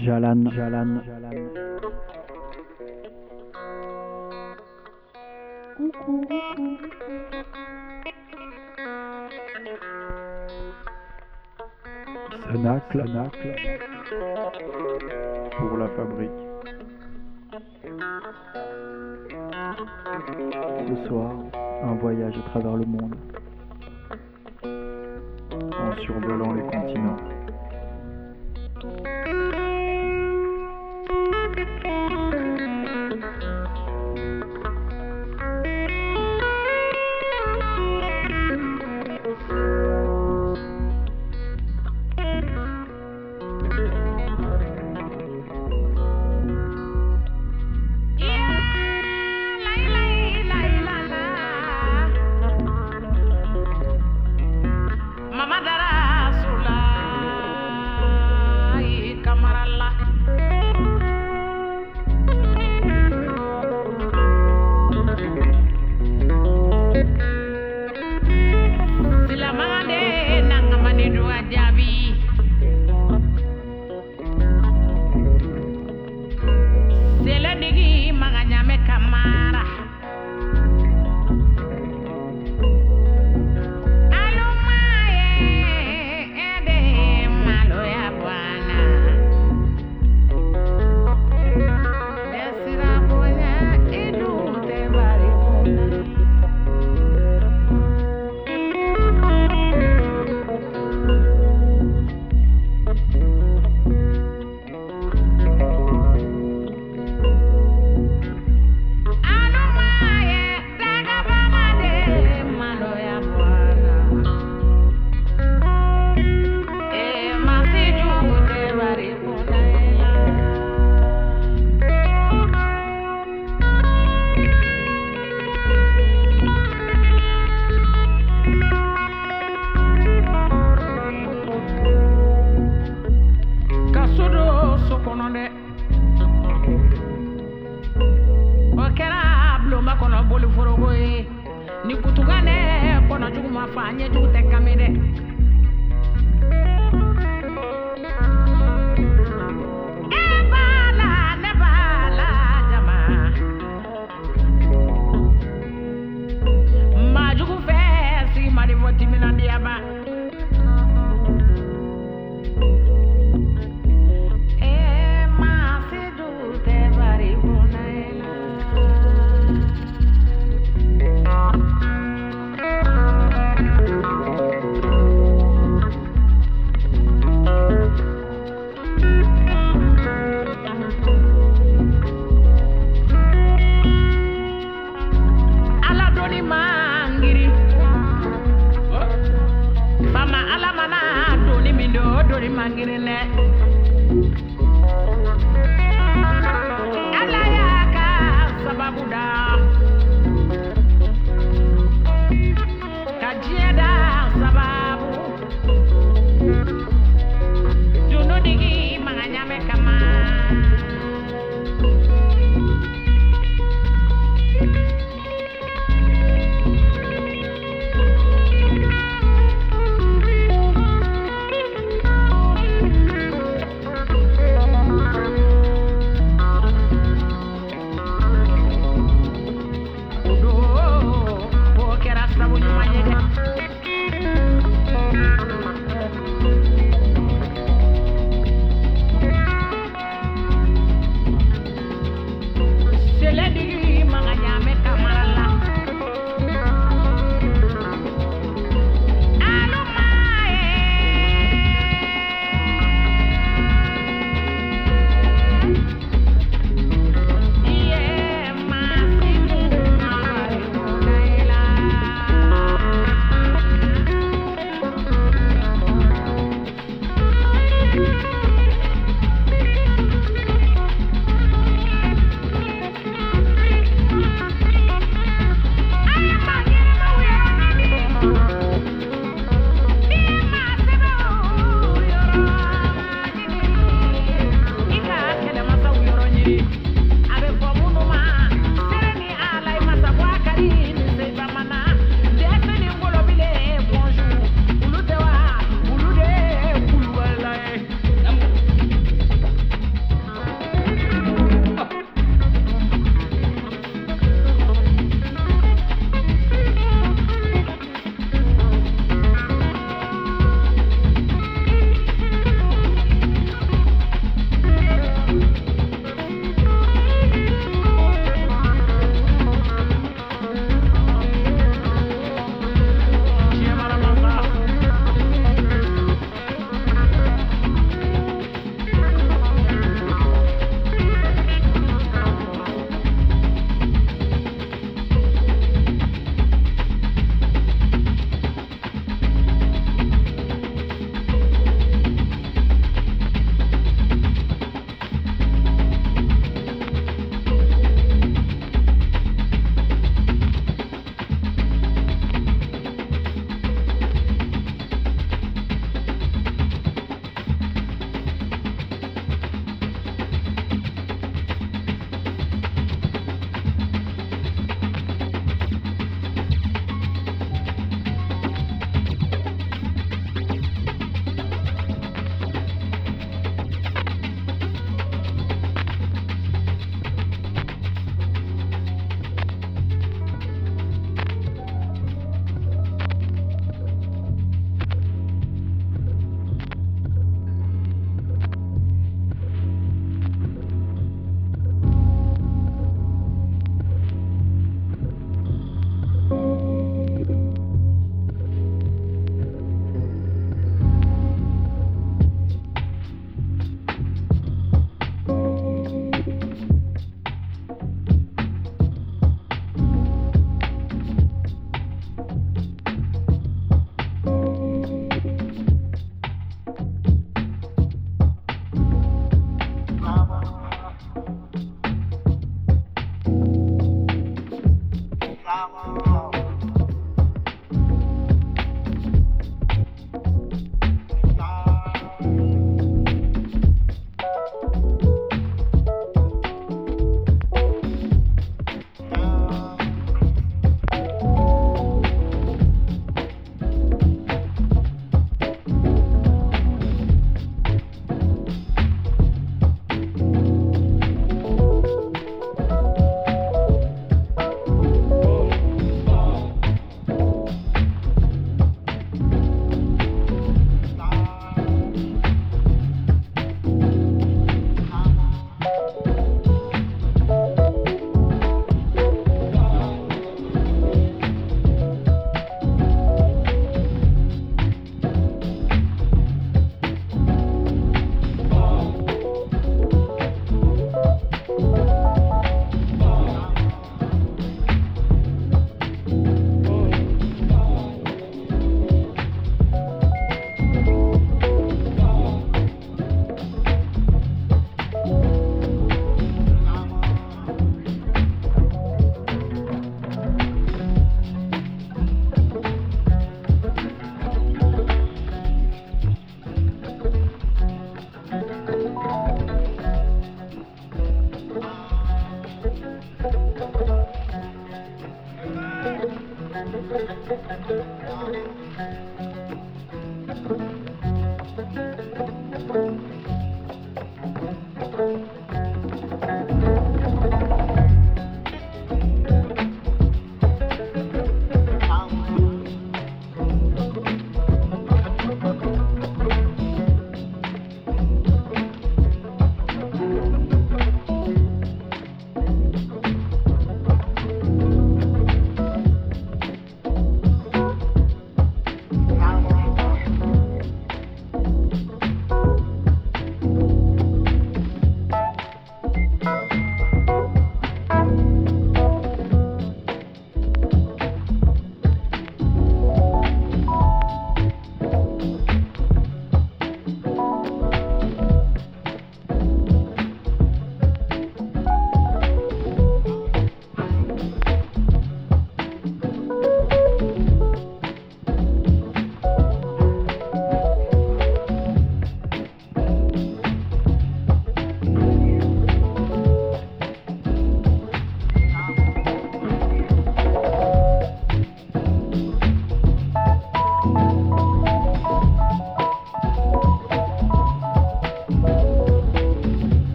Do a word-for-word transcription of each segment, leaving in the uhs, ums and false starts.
Jalan, Jalan, Jalan. Coucou, coucou. Cénacle, Cénacle. Pour la fabrique. Ce soir, un voyage à travers le monde. En survolant les continents.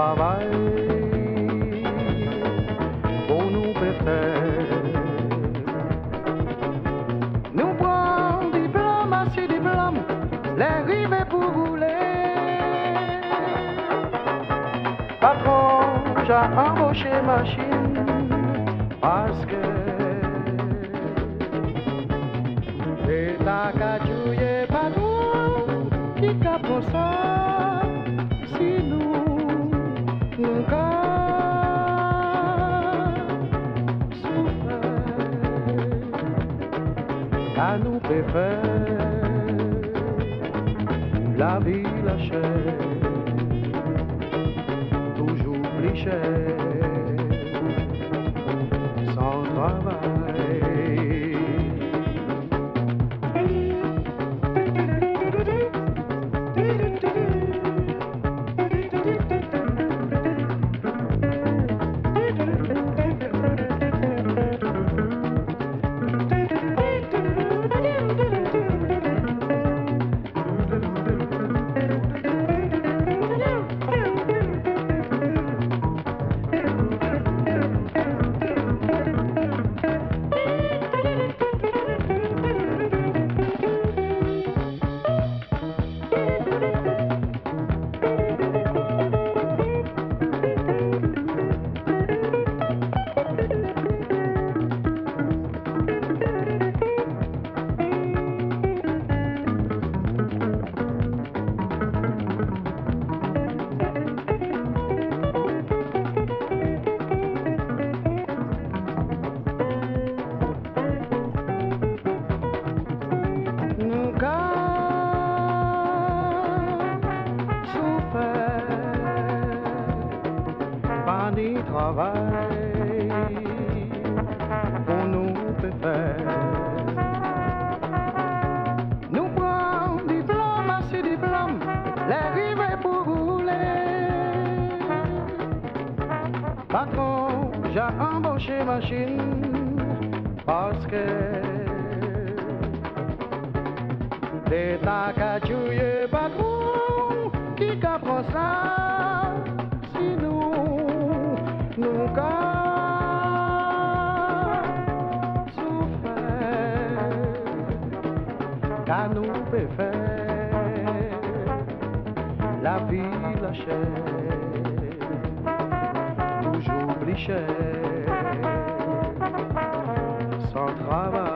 travail pour nous faire. Nous prenons diplôme, assez diplôme, les rives pour rouler. Patron, j'ai embauché machine parce que c'est ta cajouille patron qui capte ça. Si nous, nous à nous préfère la vie la chère, toujours plus chère, sans travail. Travail pour nous faire. Nous prenons diplôme, assez diplôme, les rives pour rouler. Patron, j'ai embauché machine parce que c'est ta cajouille patron qui capte ça. Nunca souffert, car nous peut faire la vie la chère, toujours plus chère, sans travail.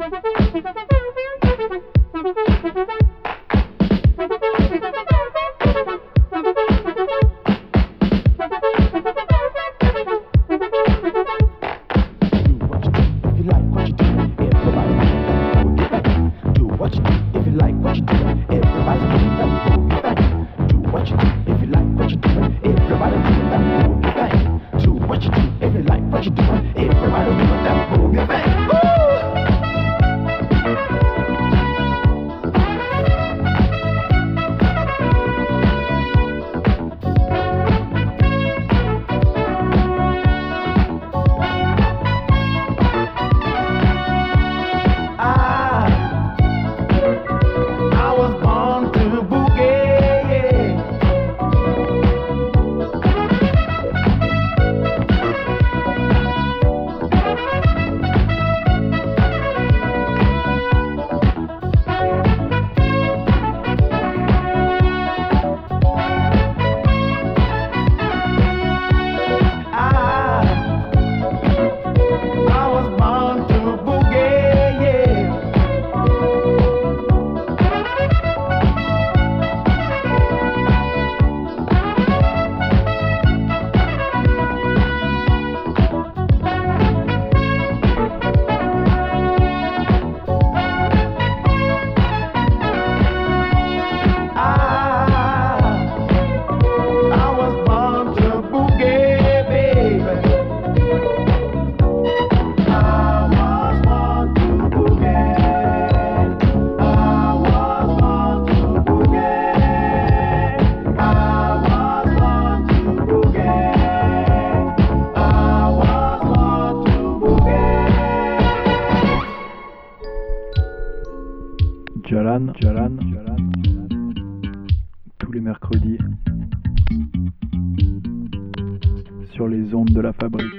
Jalan, Jalan, Jalan, tous les mercredis, sur les ondes de la fabrique.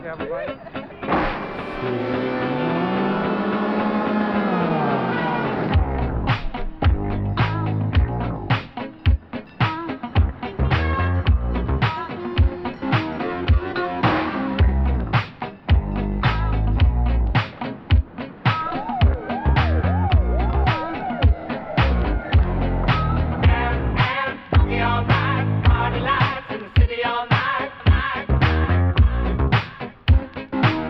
Party lights in the city all night, night.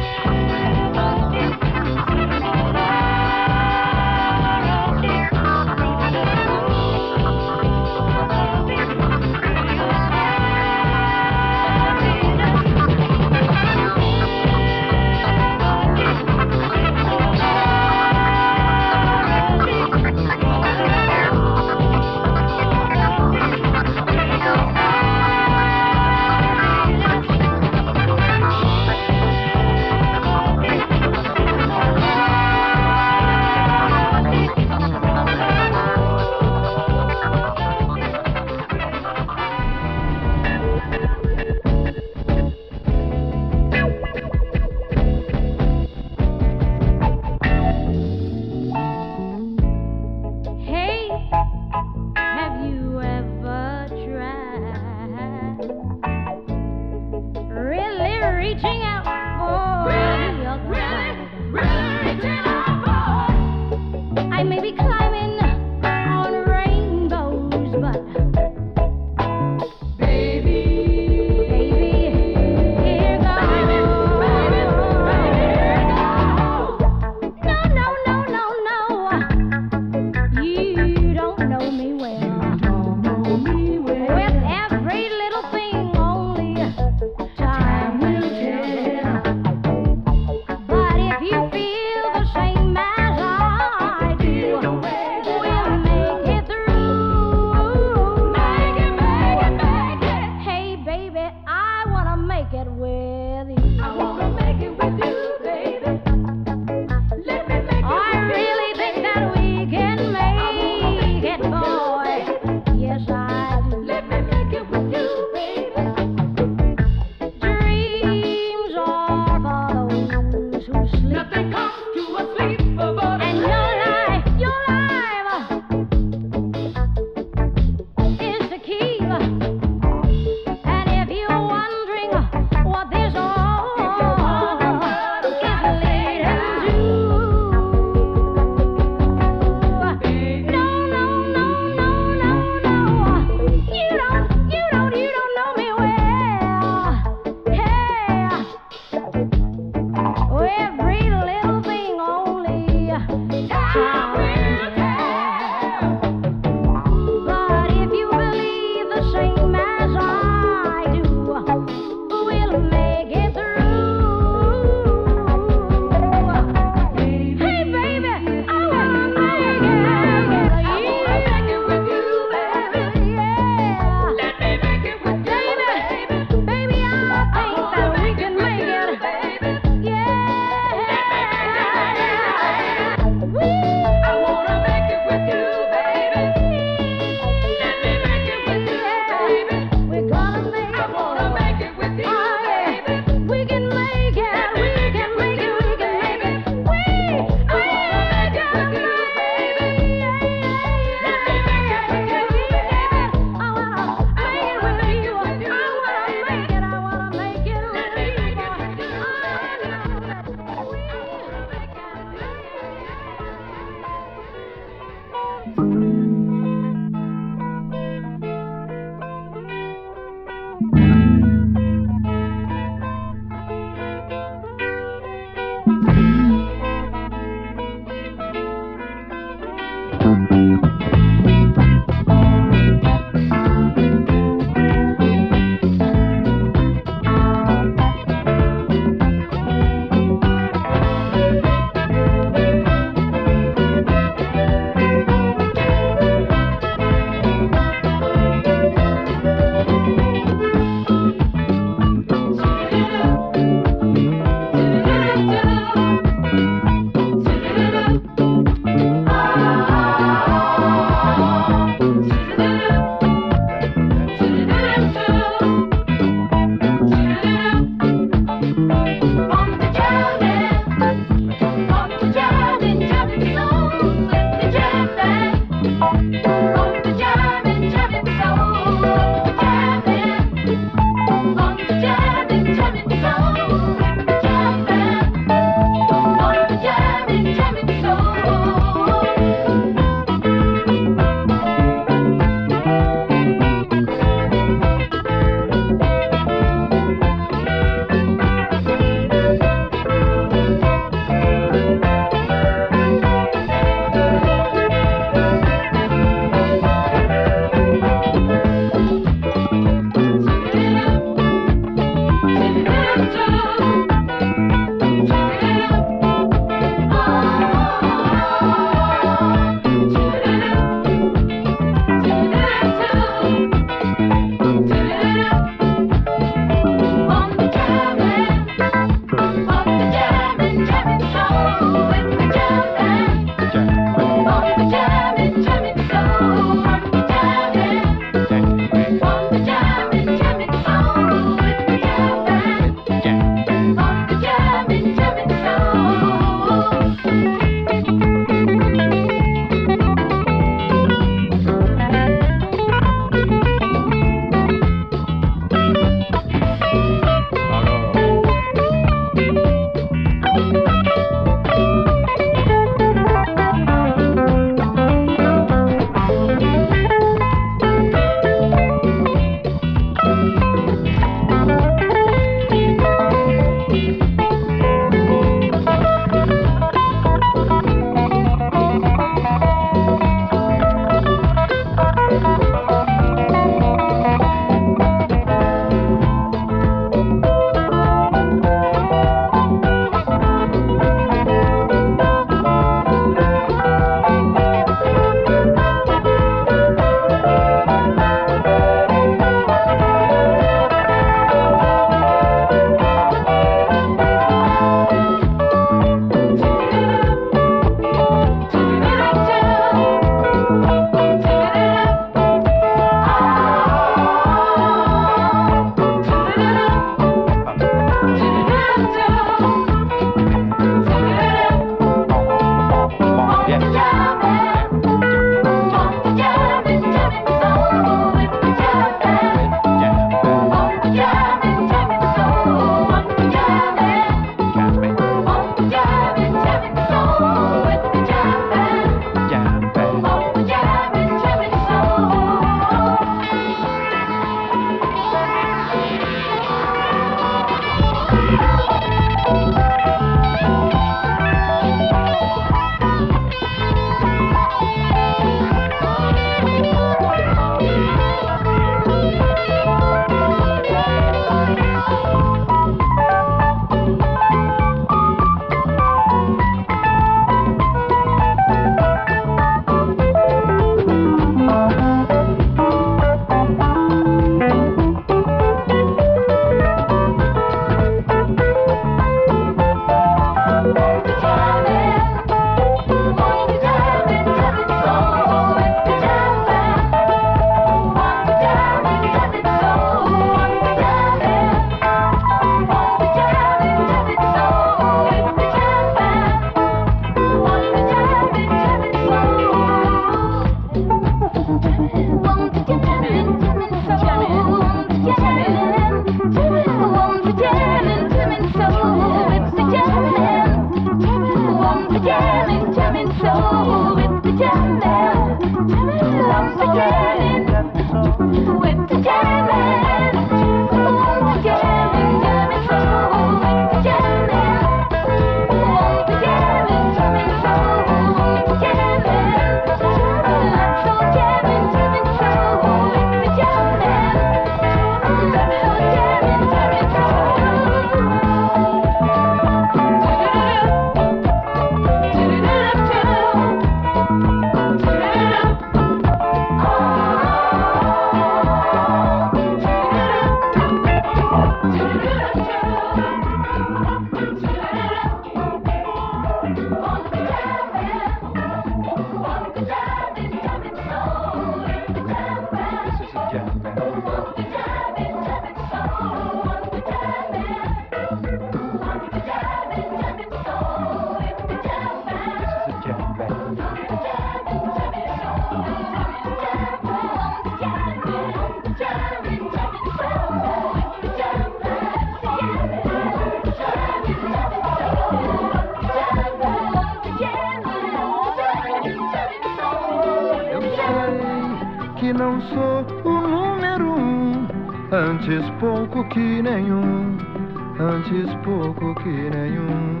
Que não sou o número um, antes pouco que nenhum, antes pouco que nenhum.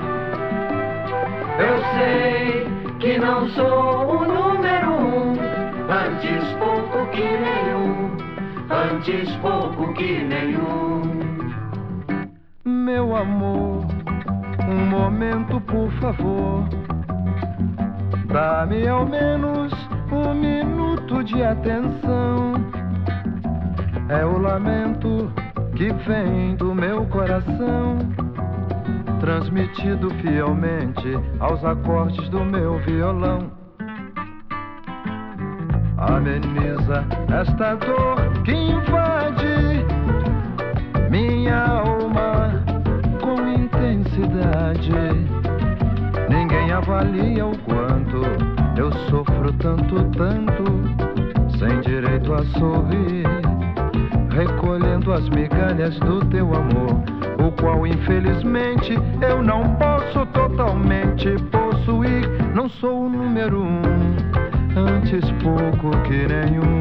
Eu sei que não sou o número um, antes pouco que nenhum, antes pouco que nenhum. Meu amor, um momento por favor, dá-me ao menos um minuto de atenção. É o lamento que vem do meu coração, transmitido fielmente aos acordes do meu violão. Ameniza esta dor que invade minha alma com intensidade. Ninguém avalia o quanto eu sofro tanto, tanto, sem direito a sorrir, recolhendo as migalhas do teu amor, o qual infelizmente eu não posso totalmente possuir. Não sou o número um, antes pouco que nenhum.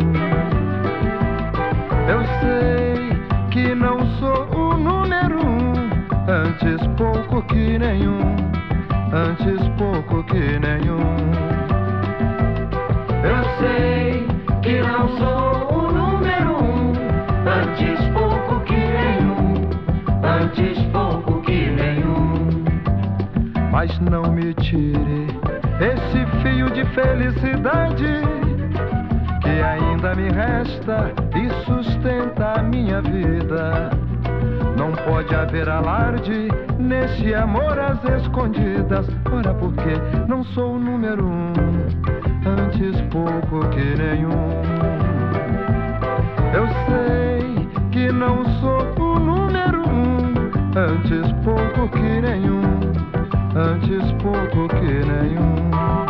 Eu sei que não sou o número um, antes pouco que nenhum, antes pouco que nenhum. Eu sei que não sou o número um, antes pouco que nenhum, antes pouco que nenhum. Mas não me tire esse fio de felicidade que ainda me resta e sustenta a minha vida. Não pode haver alarde nesse amor às escondidas. Ora, porque não sou o número um, antes pouco que nenhum. Eu sei que não sou o número um, antes pouco que nenhum, antes pouco que nenhum.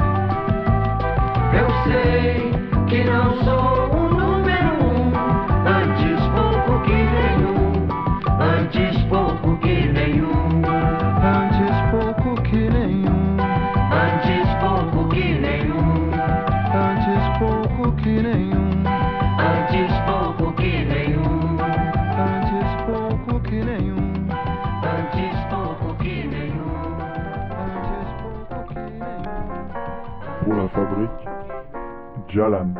Eu sei que não sou o número um, antes pouco que nenhum, antes pouco que nenhum, antes pouco que nenhum, antes pouco que nenhum, antes pouco que nenhum, antes pouco que nenhum, antes pouco que nenhum, antes pouco que nenhum, antes pouco que nenhum. Pour la fabrique, Jalan.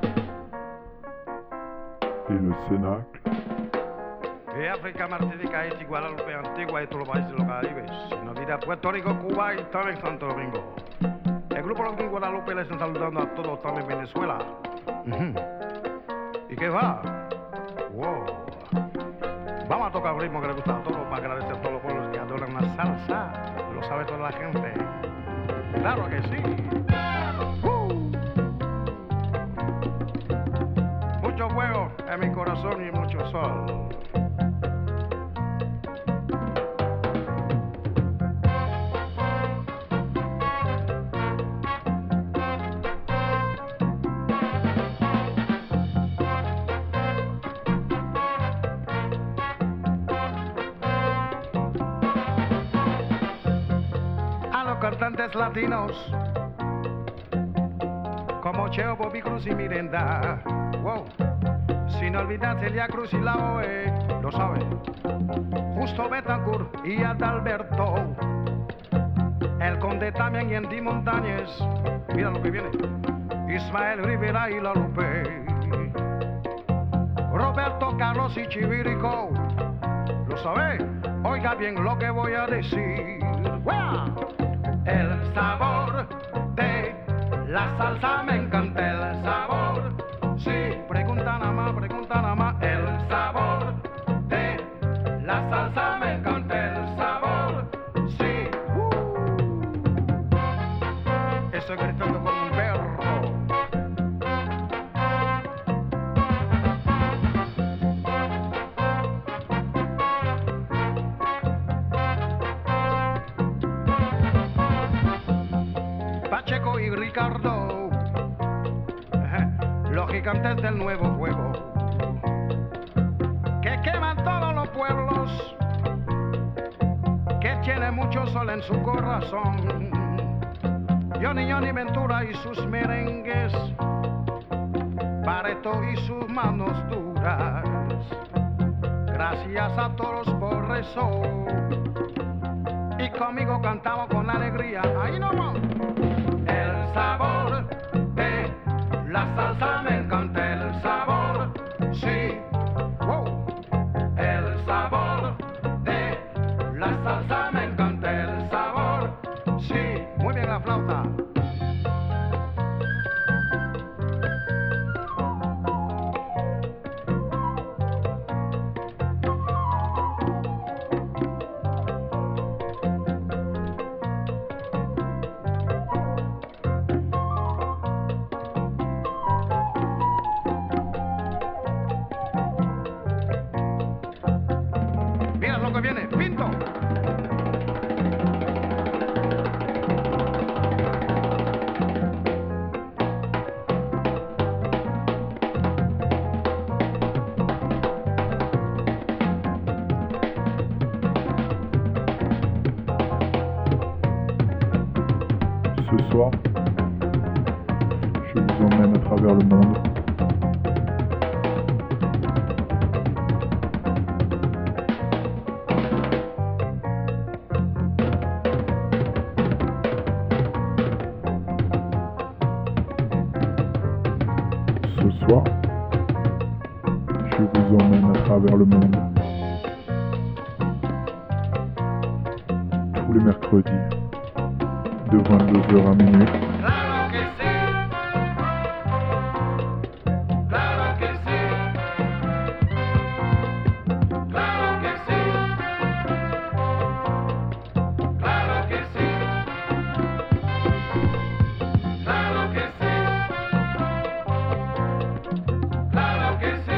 Et le Cénacle, Que África, Martinica, Haití, Guadalupe, Antigua y todos los países de los Caribes. Sin olvidar Puerto Rico, Cuba y también Santo Domingo. El grupo Los Guadalupe les están saludando a todos también en Venezuela. Uh-huh. ¿Y qué va? Wow. Vamos a tocar el ritmo que le gusta a todos para agradecer a todos los pueblos que adoran la salsa. Lo sabe toda la gente. Claro que sí. Uh. Mucho fuego en mi corazón y mucho sol. Cantantes latinos como Cheo, Bobby Cruz y Miranda, wow, sin olvidar Celia Cruz y la O E, lo sabe, Justo Betancourt y Adalberto, el Conde también y Andy Montañez, mira lo que viene, Ismael Rivera y La Lupe, Roberto Carlos y Chivirico, lo sabe, oiga bien lo que voy a decir, ¡Wea! El sabor de la salsa me encanta, el sabor. Sí, pregunta nada más, pregunta nada más. El sabor de la salsa me encanta, el sabor. Sí. Uh. Estoy gritando como un perro. gigantes del nuevo fuego que queman todos los pueblos, que tiene mucho sol en su corazón. Johnny Johnny Ventura y sus merengues, Barreto y sus manos duras. Gracias a todos por eso. Y conmigo cantamos con alegría. Ahí nomás. El sabor de la salsa me encanta, el sabor, sí. Wow. El sabor de la salsa me encanta, el sabor, sí. Muy bien la flauta. Ce soir, je vous emmène à travers le monde. Ce soir, je vous emmène à travers le monde. Tous les mercredis, de vingt-deux heures à minuit. Claro que sí. Claro que sí. Claro que sí. Claro que sí. Claro que sí. Claro que sí.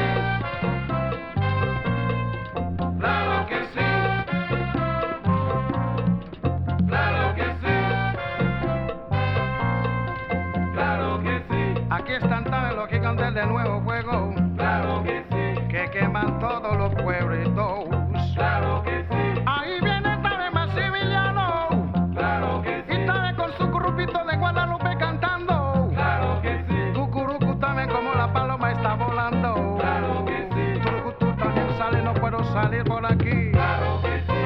Claro que sí. Claro que sí. Aquí están también los gigantes de nuevo fuego. Claro que sí. Que queman todos los pueblitos. Claro que sí. Ahí viene también Maximiliano. Claro que sí. Y también con su grupito de Guadalupe cantando. Claro que sí. Cucurucu también como la paloma está volando. Claro que sí. Turucutú también sale, no puedo salir por aquí. Claro que sí.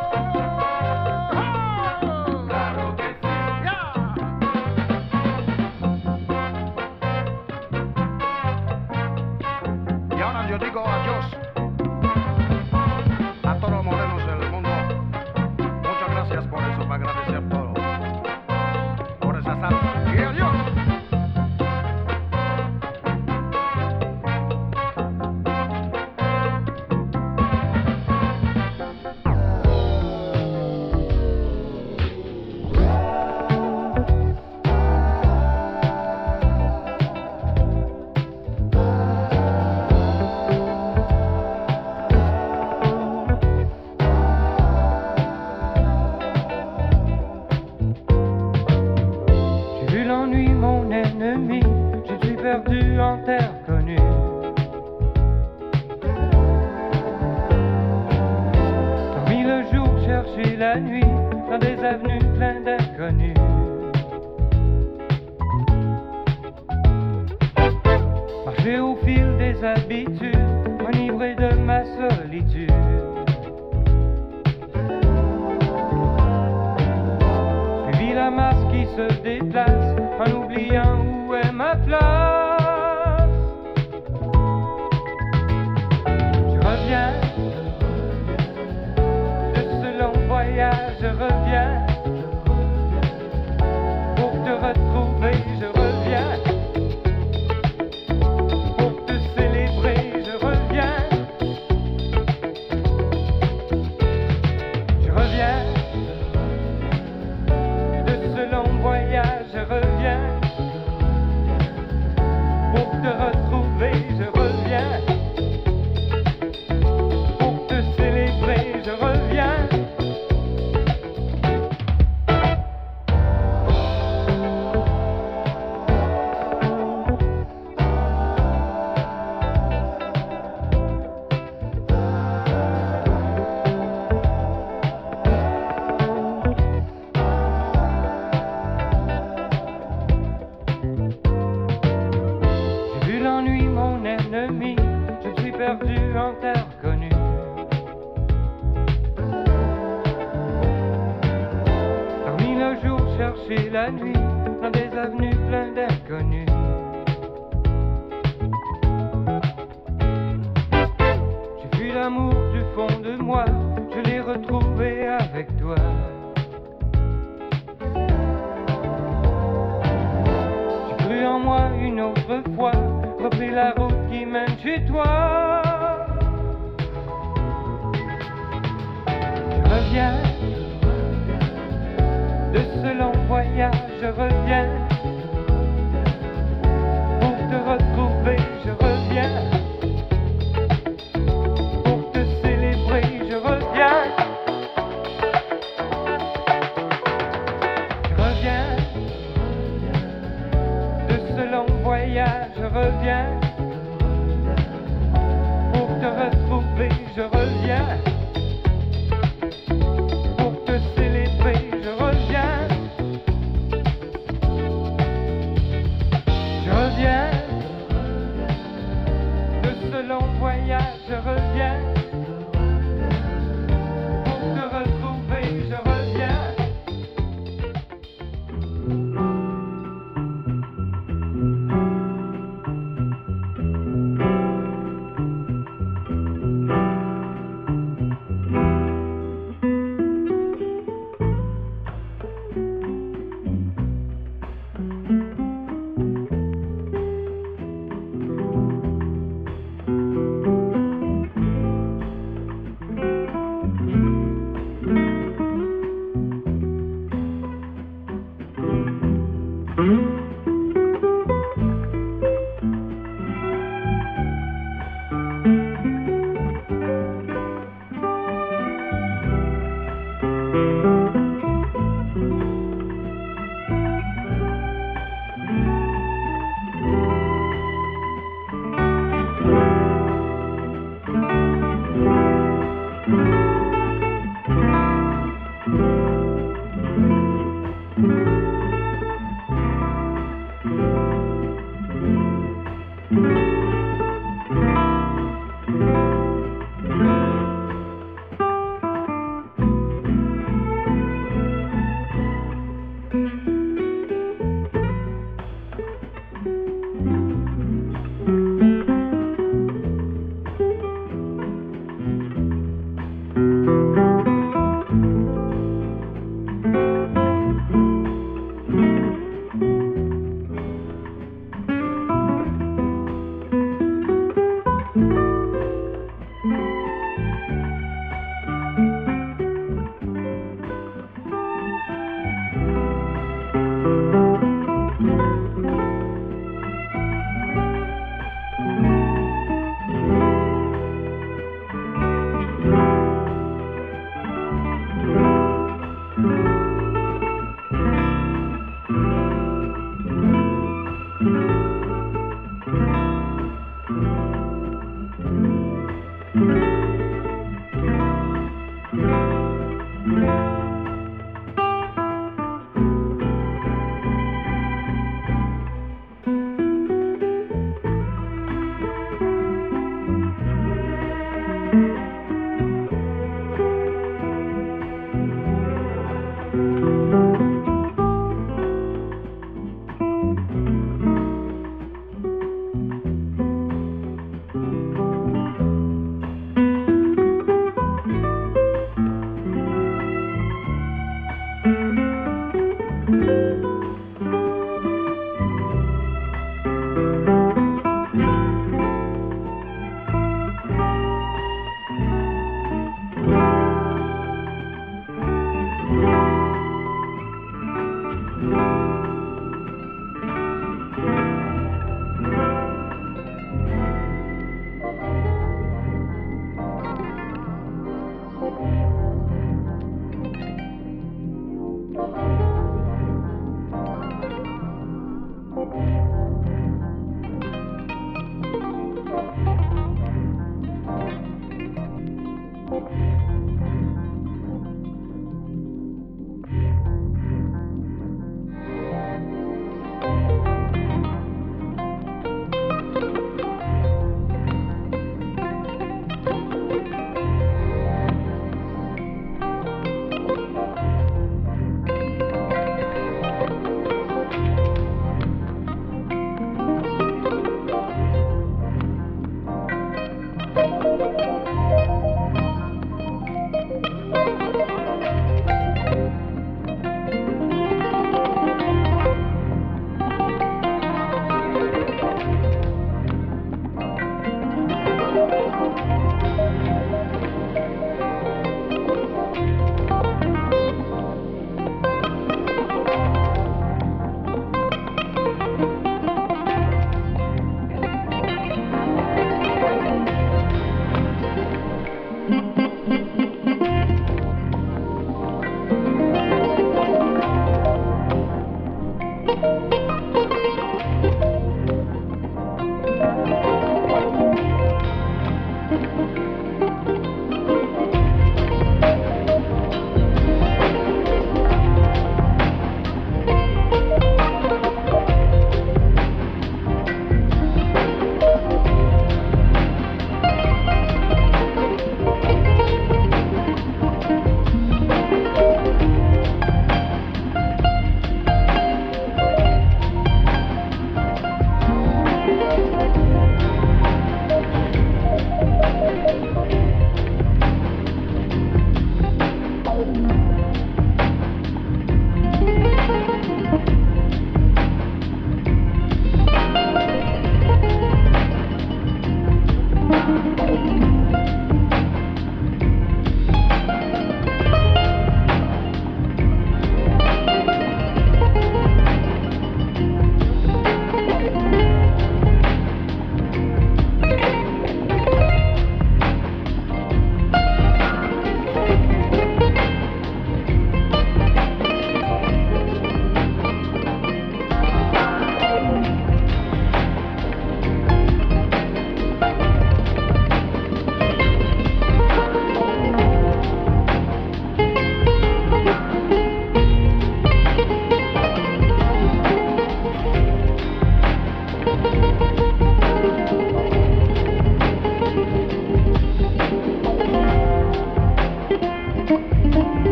Claro que sí. Yeah. Y ahora yo digo adiós a todos los morenos del mundo. Muchas gracias por eso, para agradecer todo. Por esa salsa. Y adiós. J'ai vu l'ennui, mon ennemi, je suis perdu en terre connue. Dormi le jour, chercher la nuit, dans des avenues pleines d'inconnus. Marcher au fil des habitudes, enivré de ma solitude. Suivi la masse qui se déplace, en oubliant où est ma place. Je reviens de ce long voyage, je reviens pour te retrouver, je reviens pour te célébrer, je marcher la nuit dans des avenues pleines d'inconnus. J'ai vu l'amour du fond de moi, je l'ai retrouvé avec toi. J'ai cru en moi une autre fois, repris la route qui mène chez toi. Je reviens de ce long voyage, je reviens pour te retrouver, je reviens pour te célébrer, je reviens. Je reviens de ce long voyage, je reviens pour te retrouver, je reviens. Je reviens pour te retrouver, je reviens.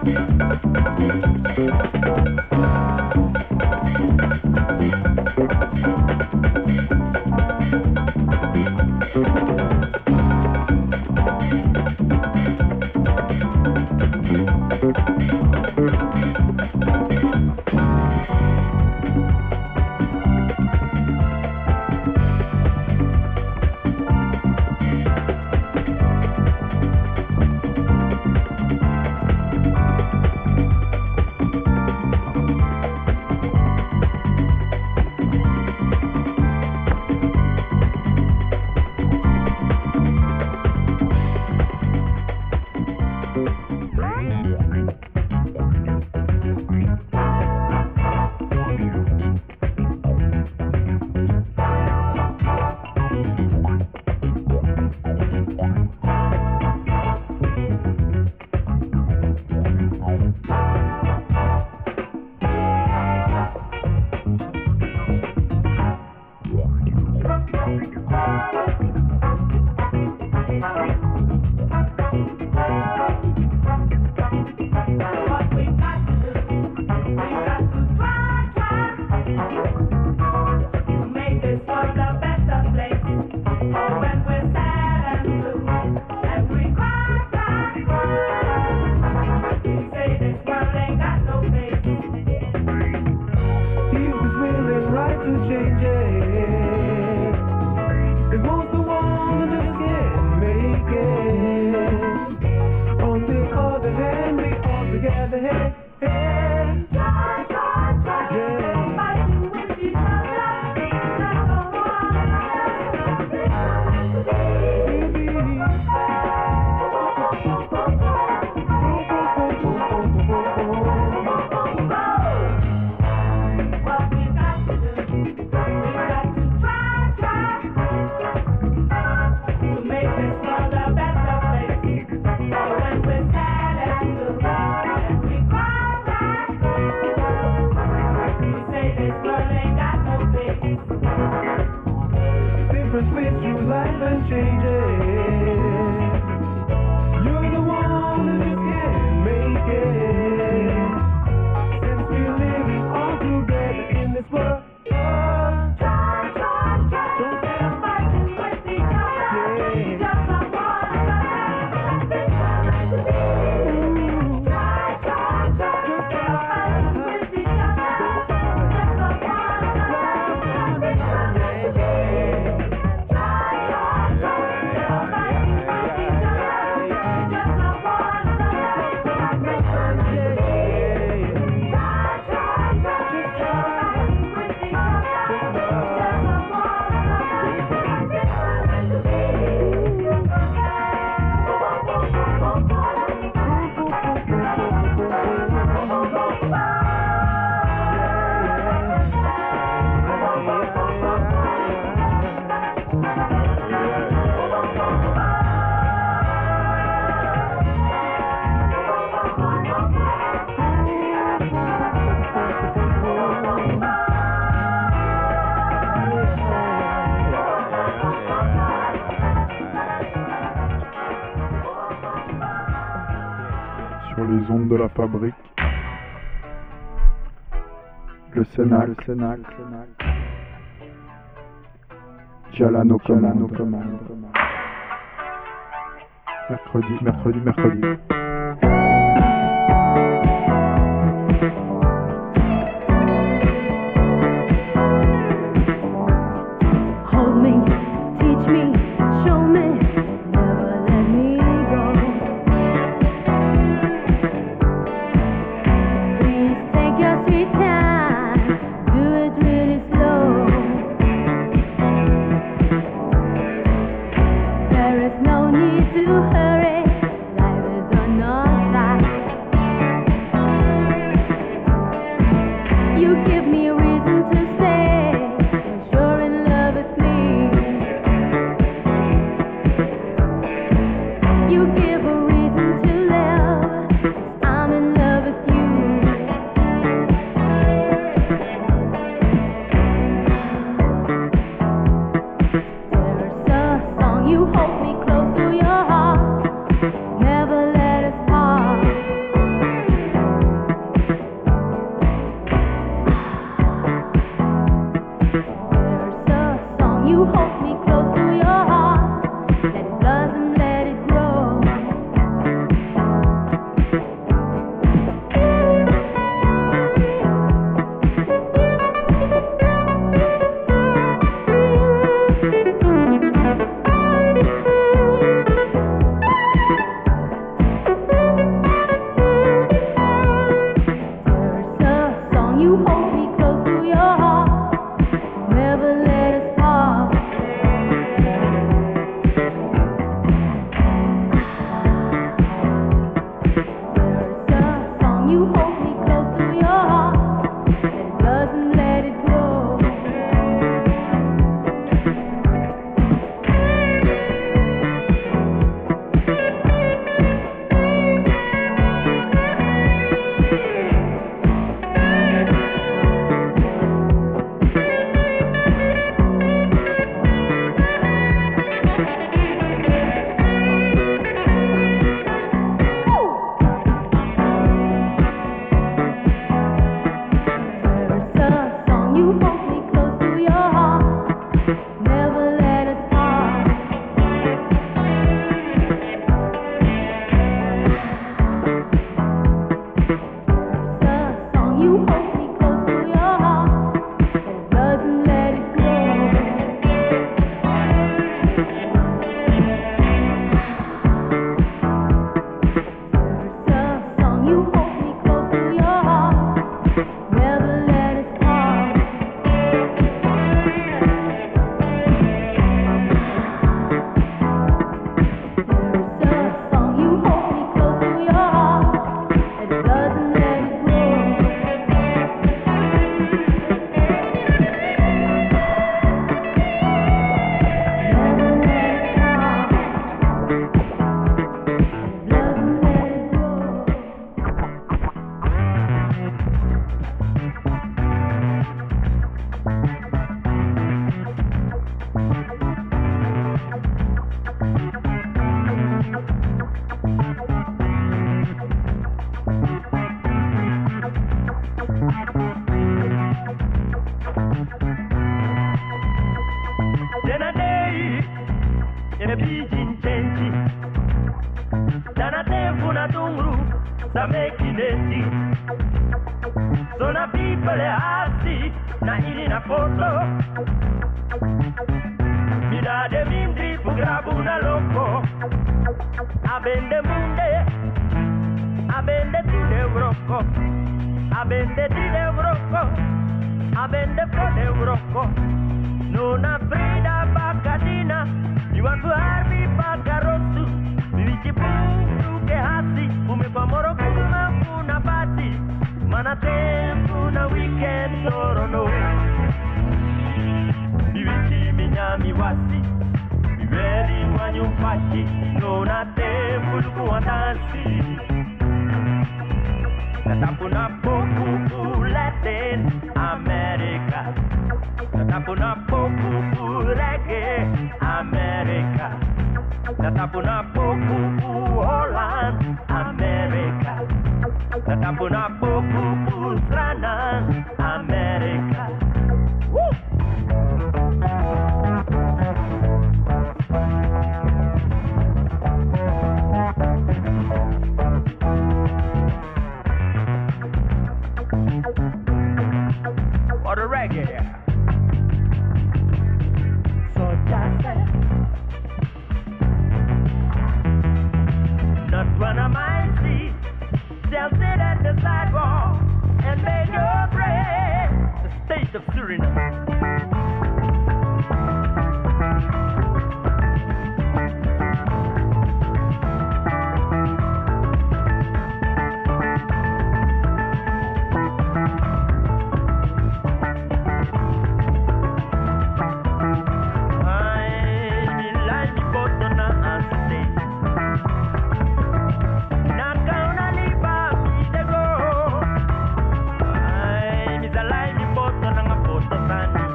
les ondes de la fabrique. Le Sénac, le Sénac, Jalano commande. Mercredi, mercredi, mercredi. No need to hurry, life is on tempo na dungru, sa mekineti. Sona people hasi, na ili na foto. Mina de mindri fu grabu na loco. Abende munde, abende ti de brocco. Abende ti de brocco, abende fo de brocco. Non aprida bacadina, you want to have me bacarosu. Vici pungu ke hasi, ume pa moro kuma una bati. Mana tempo na weekend loro no. Vici minyami wasi, viveri wanyu pachi. Non ha tempo luku andansi. Natapuna poku fu Latin America. Natapuna poku fu reggae America. Natapuna poku fu Holland America. Natapuna poku fu Strana America. Woo! Or the reggae. So just say, not one of my seat. They'll sit at the sidewalk and make your bread. The state of Suriname. Bye.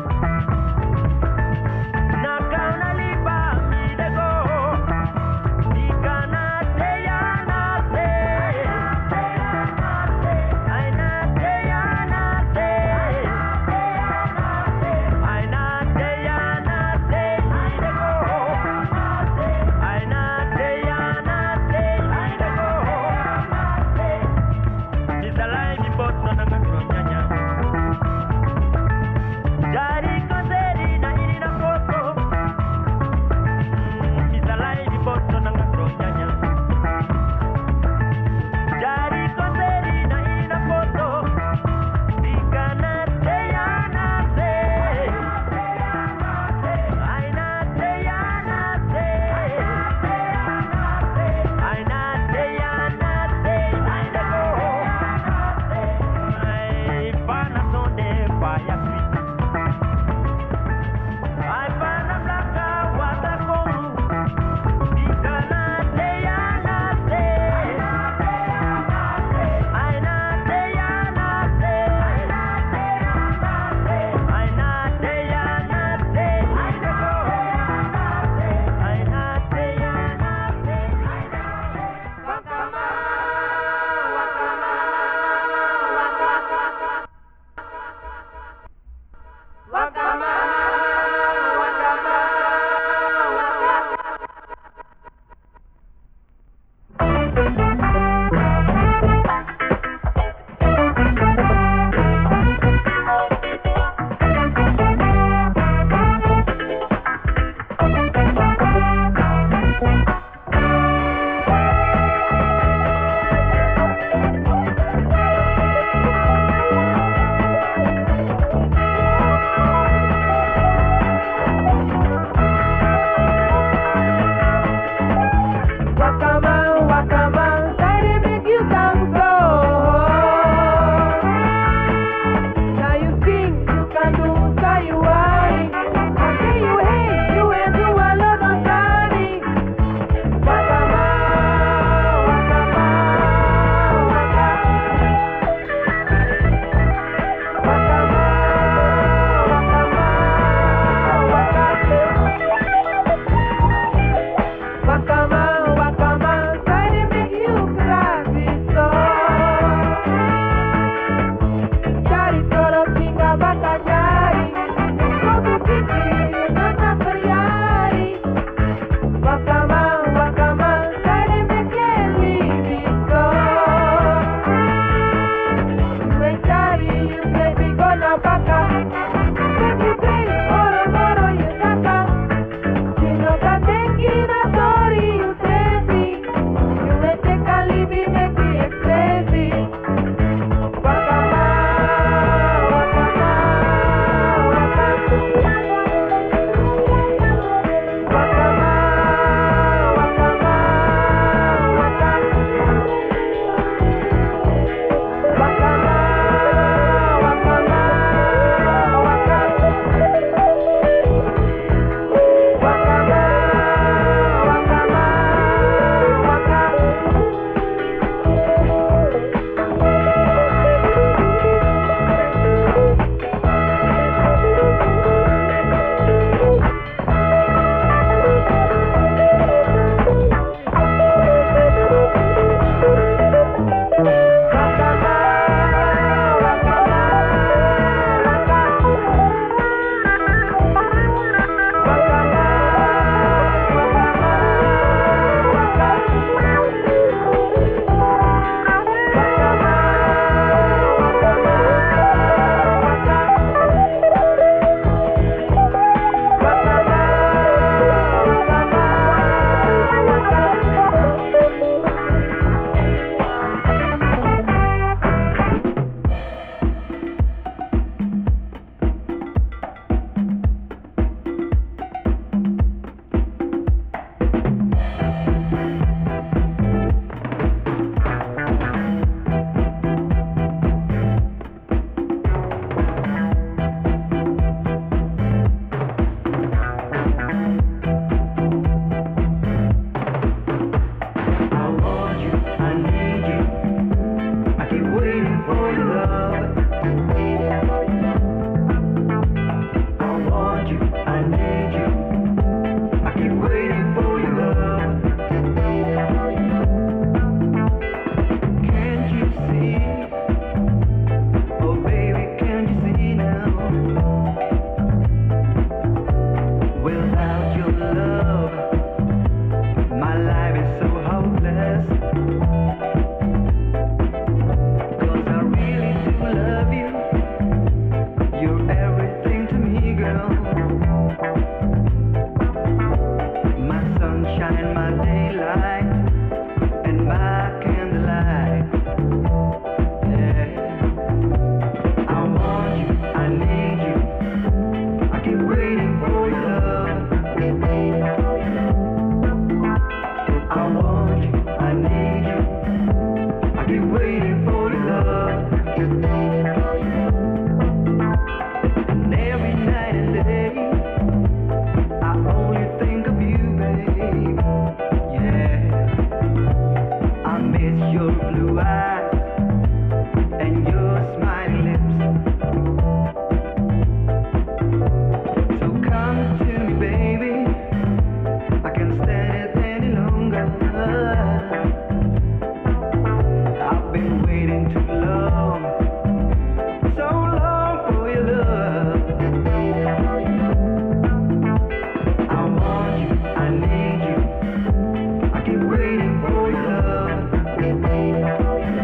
Waiting for your love.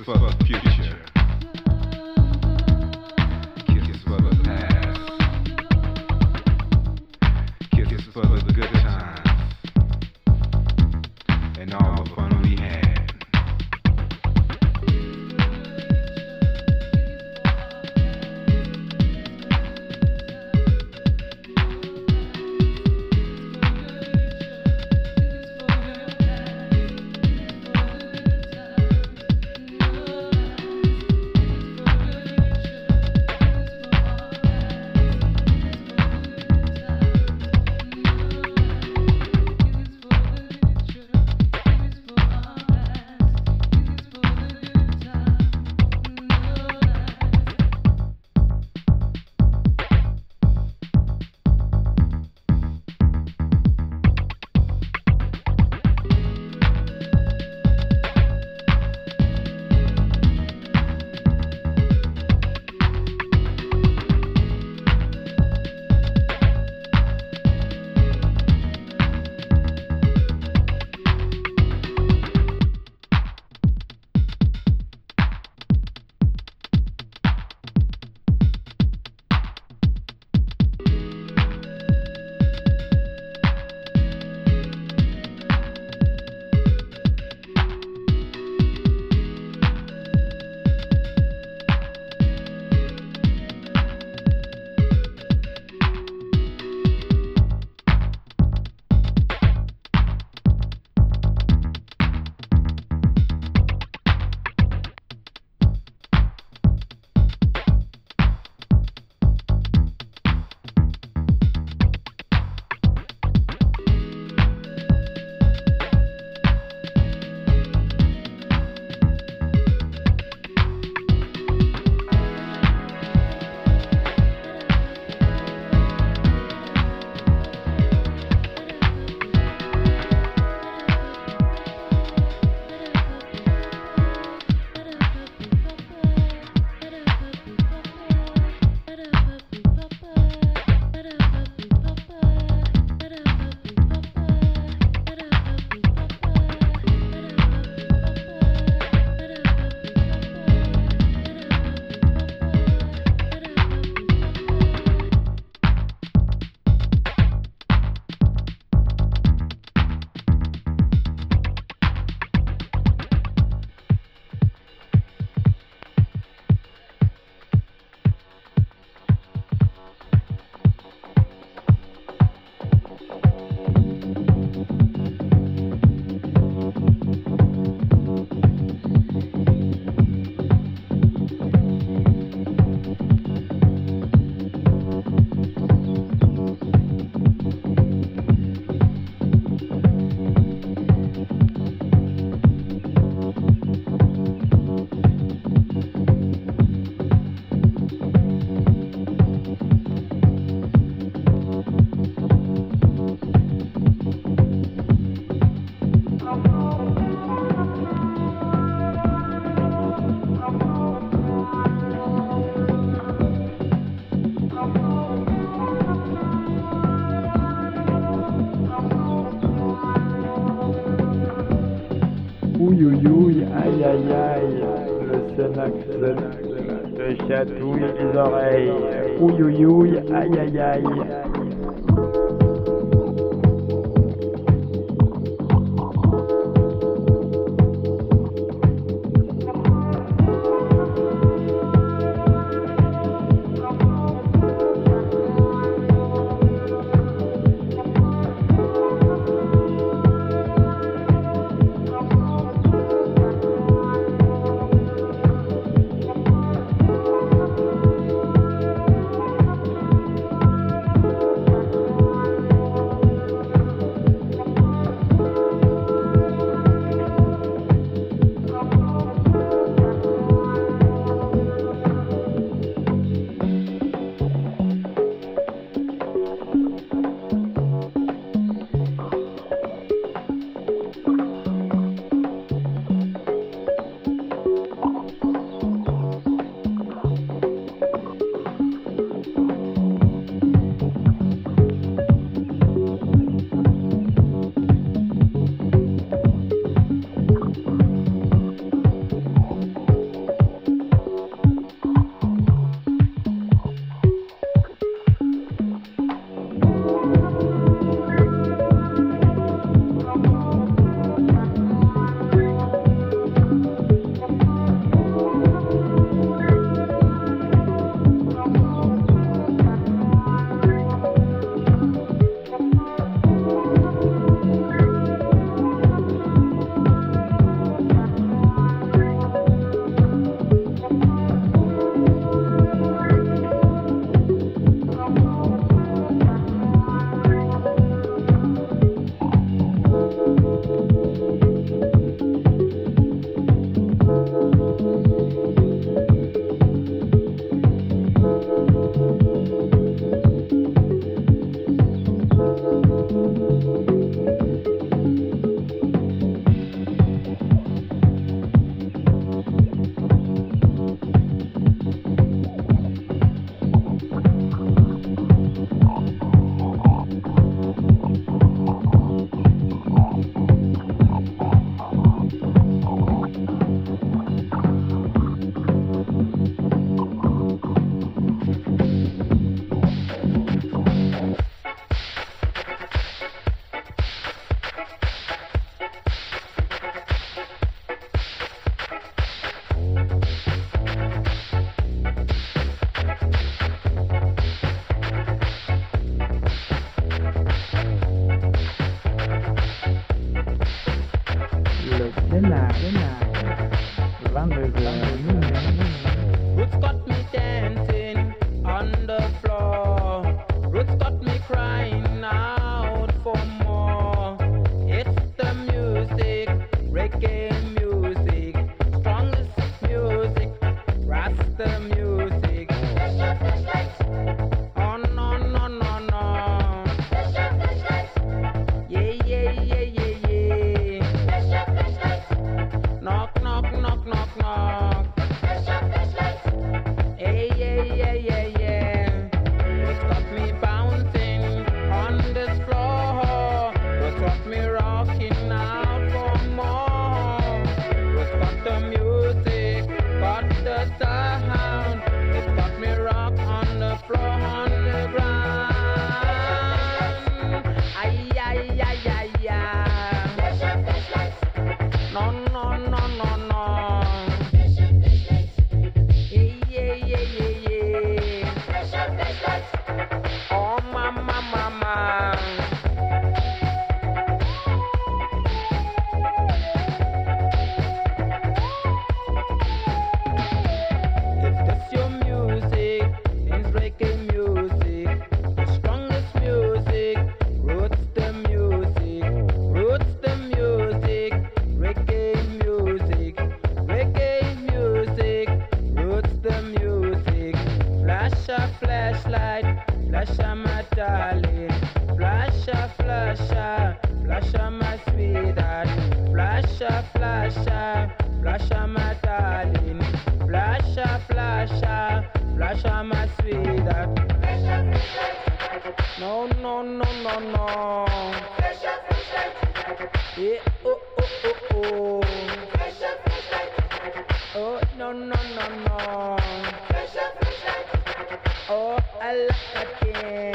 for the future. Kisses for the past. Kisses for the good times. And all the fun we had. Ouïe, ouïe, ouïe, aïe, aïe, aïe, le Cenax te chatouille les oreilles. Ouïe, ouïe, ouïe, aïe, aïe, aïe. flasha, flasha my sweetheart. Flasha, flasha, flasha my darling. Flasha, flasha, flasha my sweetheart. No, no, no, no, no. Yeah, oh, oh, oh, oh. Oh, no, no, no, no. Oh, I like again.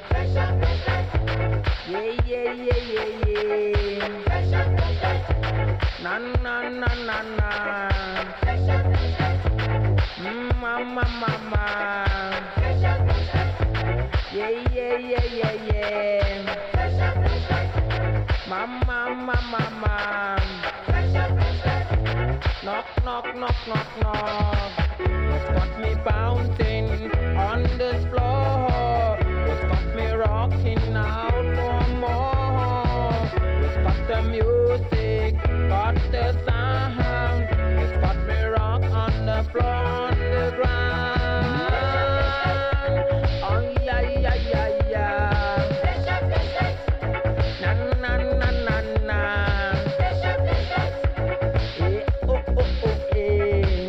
Yeah, yeah, yeah, yeah, yeah. Na, na, na, na, na. Mm, mama, mama. Yeah, yeah, yeah, yeah, yeah. Mama, mama, mama. Knock, knock, knock, knock, knock. What's got me bouncing on this floor? What's got me rocking out for more? What's got the music, got the sound? What's got me rock on the floor, on the ground? Oh yeah, yeah, yeah, yeah. Na na na na na. Eh, oh oh oh eh.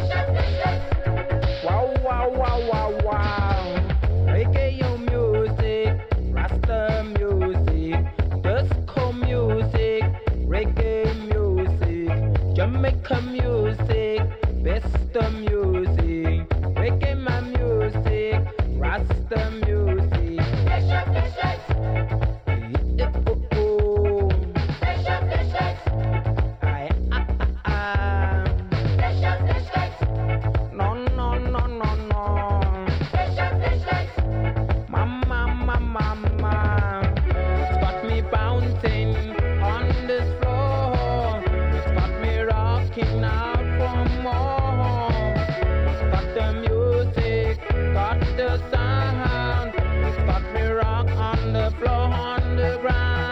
Wow wow wow wow wow. Reggae music, Rasta music, disco music, reggae music, Jamaica music, Vesta music, reggae my music, Rasta music. Eh, oh, oh. Aye, ah, ah, ah. No, no, no, no, no. Mama, mama, mama. It's got me bouncing on this floor. It's got me rocking out for more. It's got the music, got the sound. It's got me rock on the floor, on the ground.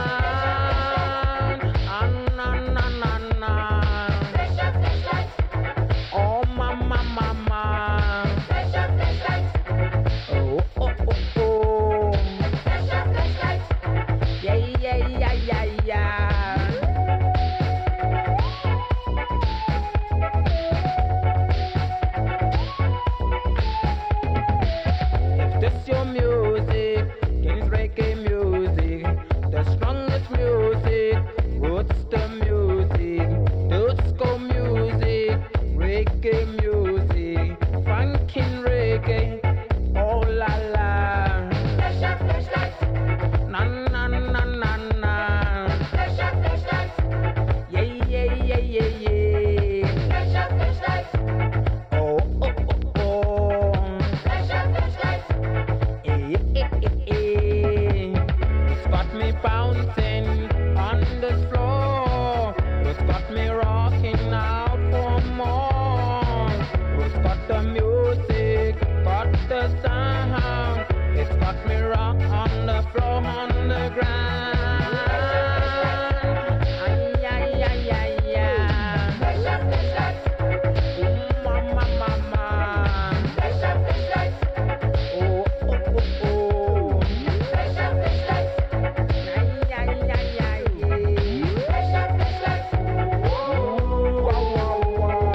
Ah, na, na, na, na. Oh, mama, mama. Oh, oh, oh, oh. Yeah, yeah, yeah, yeah, yeah. If this your music, then it's reggae music. The strongest music, what's the music? Disco music, reggae music, funkin' reggae, oh la la. Na na na na na. Yeah, yeah, yeah, yeah, yeah. Oh, oh, oh, oh. Eh, eh, eh, eh. It's got me bouncing on the floor. It's got me rocking out for more. It's got the music, got the sound. It's got me rock on the floor, on the ground. Ay, ay, ay, ay, ay. Oh, mama, mama. Oh, oh, oh, oh. Ay, ay, ay, ay, ay. Oh, wow, wow, wow.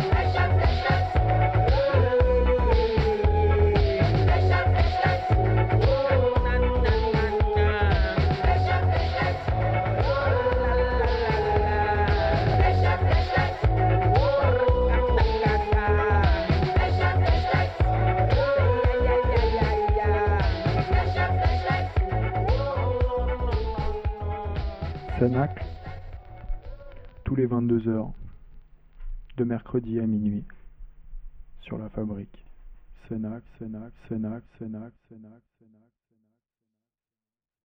Cenacle, tous les vingt-deux heures, de mercredi à minuit, sur la fabrique. Cenacle, Cenacle, Cenacle, Cenacle, Cenacle, Cenacle.